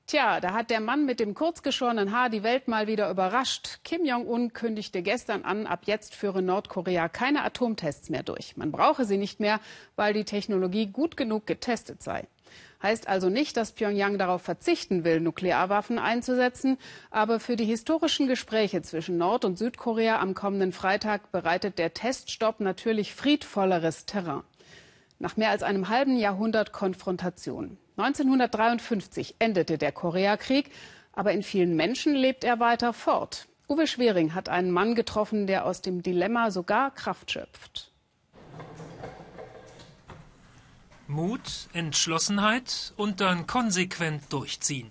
Tja, da hat der Mann mit dem kurzgeschorenen Haar die Welt mal wieder überrascht. Kim Jong-un kündigte gestern an, ab jetzt führe Nordkorea keine Atomtests mehr durch. Man brauche sie nicht mehr, weil die Technologie gut genug getestet sei. Heißt also nicht, dass Pyongyang darauf verzichten will, Nuklearwaffen einzusetzen. Aber für die historischen Gespräche zwischen Nord- und Südkorea am kommenden Freitag bereitet der Teststopp natürlich friedvolleres Terrain. Nach mehr als einem halben Jahrhundert Konfrontation. 1953 endete der Koreakrieg, aber in vielen Menschen lebt er weiter fort. Uwe Schwering hat einen Mann getroffen, der aus dem Dilemma sogar Kraft schöpft. Mut, Entschlossenheit und dann konsequent durchziehen.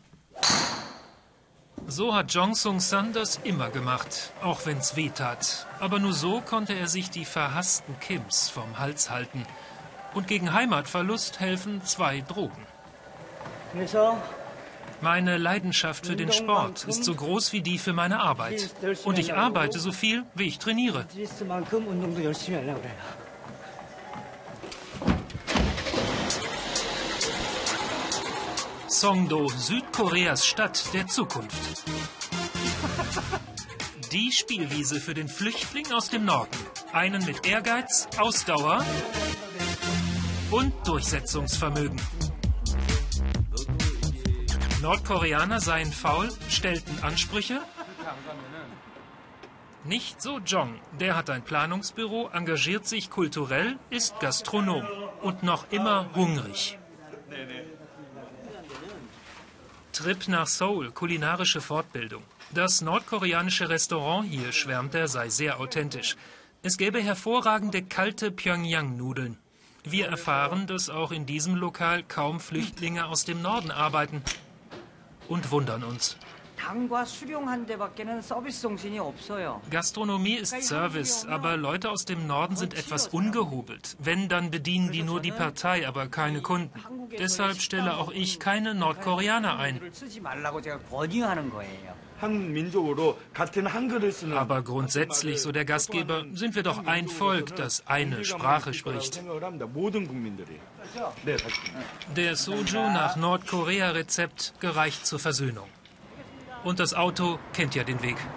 So hat Jong Sung-san das immer gemacht, auch wenn's weh tat. Aber nur so konnte er sich die verhassten Kims vom Hals halten. Und gegen Heimatverlust helfen 2 Drogen. Meine Leidenschaft für den Sport ist so groß wie die für meine Arbeit. Und ich arbeite so viel, wie ich trainiere. Songdo, Südkoreas Stadt der Zukunft. Die Spielwiese für den Flüchtling aus dem Norden. Einen mit Ehrgeiz, Ausdauer und Durchsetzungsvermögen. Nordkoreaner seien faul, stellten Ansprüche. Nicht so Jong. Der hat ein Planungsbüro, engagiert sich kulturell, ist Gastronom und noch immer hungrig. Trip nach Seoul, kulinarische Fortbildung. Das nordkoreanische Restaurant hier, schwärmt er, sei sehr authentisch. Es gäbe hervorragende kalte Pyongyang-Nudeln. Wir erfahren, dass auch in diesem Lokal kaum Flüchtlinge aus dem Norden arbeiten. Und wundern uns. Gastronomie ist Service, aber Leute aus dem Norden sind etwas ungehobelt. Wenn, dann bedienen die nur die Partei, aber keine Kunden. Deshalb stelle auch ich keine Nordkoreaner ein. Aber grundsätzlich, so der Gastgeber, sind wir doch ein Volk, das eine Sprache spricht. Der Soju nach Nordkorea-Rezept gereicht zur Versöhnung. Und das Auto kennt ja den Weg.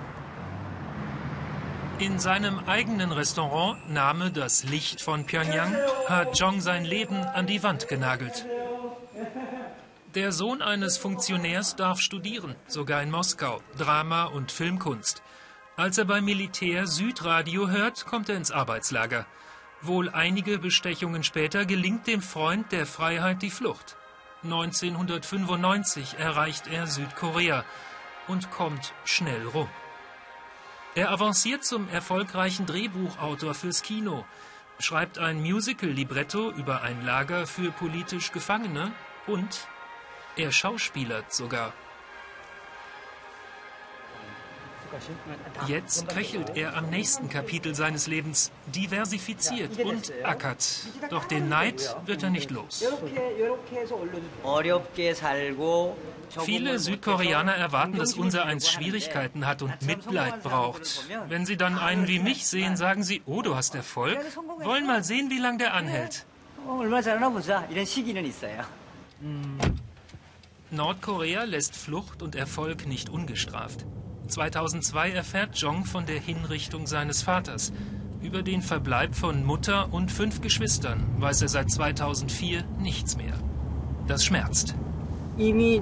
In seinem eigenen Restaurant, Name das Licht von Pyongyang, hat Jong sein Leben an die Wand genagelt. Der Sohn eines Funktionärs darf studieren, sogar in Moskau, Drama- und Filmkunst. Als er beim Militär Südradio hört, kommt er ins Arbeitslager. Wohl einige Bestechungen später gelingt dem Freund der Freiheit die Flucht. 1995 erreicht er Südkorea und kommt schnell rum. Er avanciert zum erfolgreichen Drehbuchautor fürs Kino, schreibt ein Musical-Libretto über ein Lager für politisch Gefangene und er schauspielert sogar. Jetzt köchelt er am nächsten Kapitel seines Lebens, diversifiziert und ackert. Doch den Neid wird er nicht los. Viele Südkoreaner erwarten, dass unsereins Schwierigkeiten hat und Mitleid braucht. Wenn sie dann einen wie mich sehen, sagen sie, oh, du hast Erfolg? Wollen mal sehen, wie lange der anhält. Nordkorea lässt Flucht und Erfolg nicht ungestraft. 2002 erfährt Jong von der Hinrichtung seines Vaters. Über den Verbleib von Mutter und 5 Geschwistern weiß er seit 2004 nichts mehr. Das schmerzt. Die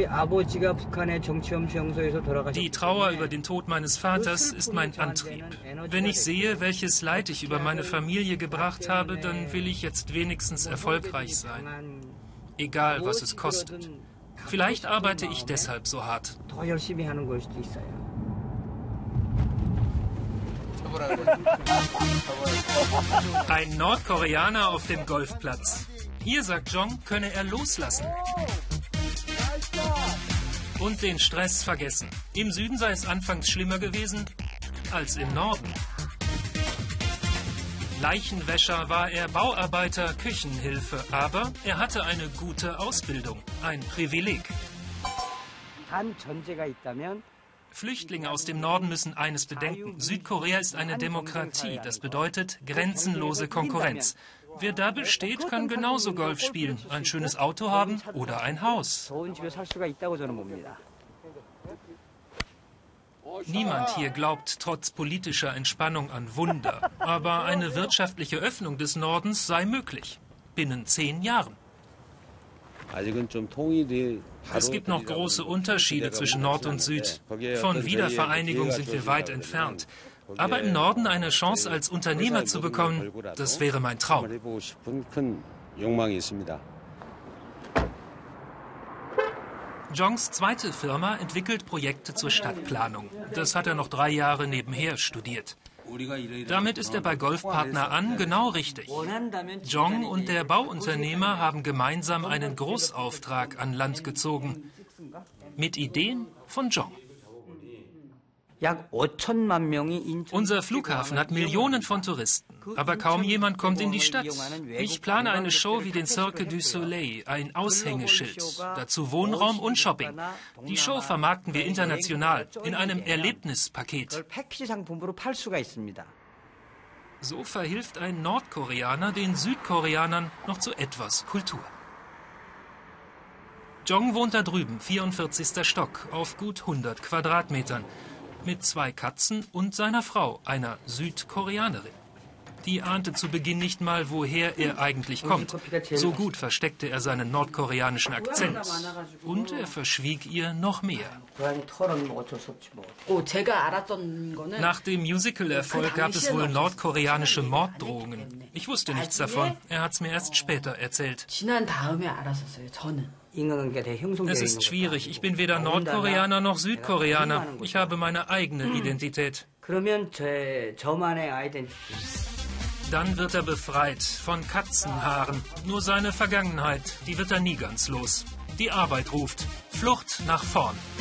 Trauer über den Tod meines Vaters ist mein Antrieb. Wenn ich sehe, welches Leid ich über meine Familie gebracht habe, dann will ich jetzt wenigstens erfolgreich sein. Egal, was es kostet. Vielleicht arbeite ich deshalb so hart. Ein Nordkoreaner auf dem Golfplatz. Hier, sagt Jong, könne er loslassen. Und den Stress vergessen. Im Süden sei es anfangs schlimmer gewesen als im Norden. Leichenwäscher war er, Bauarbeiter, Küchenhilfe, aber er hatte eine gute Ausbildung, ein Privileg. Flüchtlinge aus dem Norden müssen eines bedenken. Südkorea ist eine Demokratie, das bedeutet grenzenlose Konkurrenz. Wer da besteht, kann genauso Golf spielen, ein schönes Auto haben oder ein Haus. Niemand hier glaubt trotz politischer Entspannung an Wunder. Aber eine wirtschaftliche Öffnung des Nordens sei möglich. Binnen 10 Jahren. Es gibt noch große Unterschiede zwischen Nord und Süd. Von Wiedervereinigung sind wir weit entfernt. Aber im Norden eine Chance als Unternehmer zu bekommen, das wäre mein Traum. Jongs zweite Firma entwickelt Projekte zur Stadtplanung. Das hat er noch 3 Jahre nebenher studiert. Damit ist er bei Golfpartner An genau richtig. Jong und der Bauunternehmer haben gemeinsam einen Großauftrag an Land gezogen. Mit Ideen von Jong. Unser Flughafen hat Millionen von Touristen, aber kaum jemand kommt in die Stadt. Ich plane eine Show wie den Cirque du Soleil, ein Aushängeschild, dazu Wohnraum und Shopping. Die Show vermarkten wir international, in einem Erlebnispaket. So verhilft ein Nordkoreaner den Südkoreanern noch zu etwas Kultur. Jong wohnt da drüben, 44. Stock, auf gut 100 Quadratmetern. Mit 2 Katzen und seiner Frau, einer Südkoreanerin. Die ahnte zu Beginn nicht mal, woher er eigentlich kommt. So gut versteckte er seinen nordkoreanischen Akzent. Und er verschwieg ihr noch mehr. Nach dem Musical-Erfolg gab es wohl nordkoreanische Morddrohungen. Ich wusste nichts davon. Er hat es mir erst später erzählt. Es ist schwierig. Ich bin weder Nordkoreaner noch Südkoreaner. Ich habe meine eigene Identität. Dann wird er befreit von Katzenhaaren. Nur seine Vergangenheit, die wird er nie ganz los. Die Arbeit ruft. Flucht nach vorn.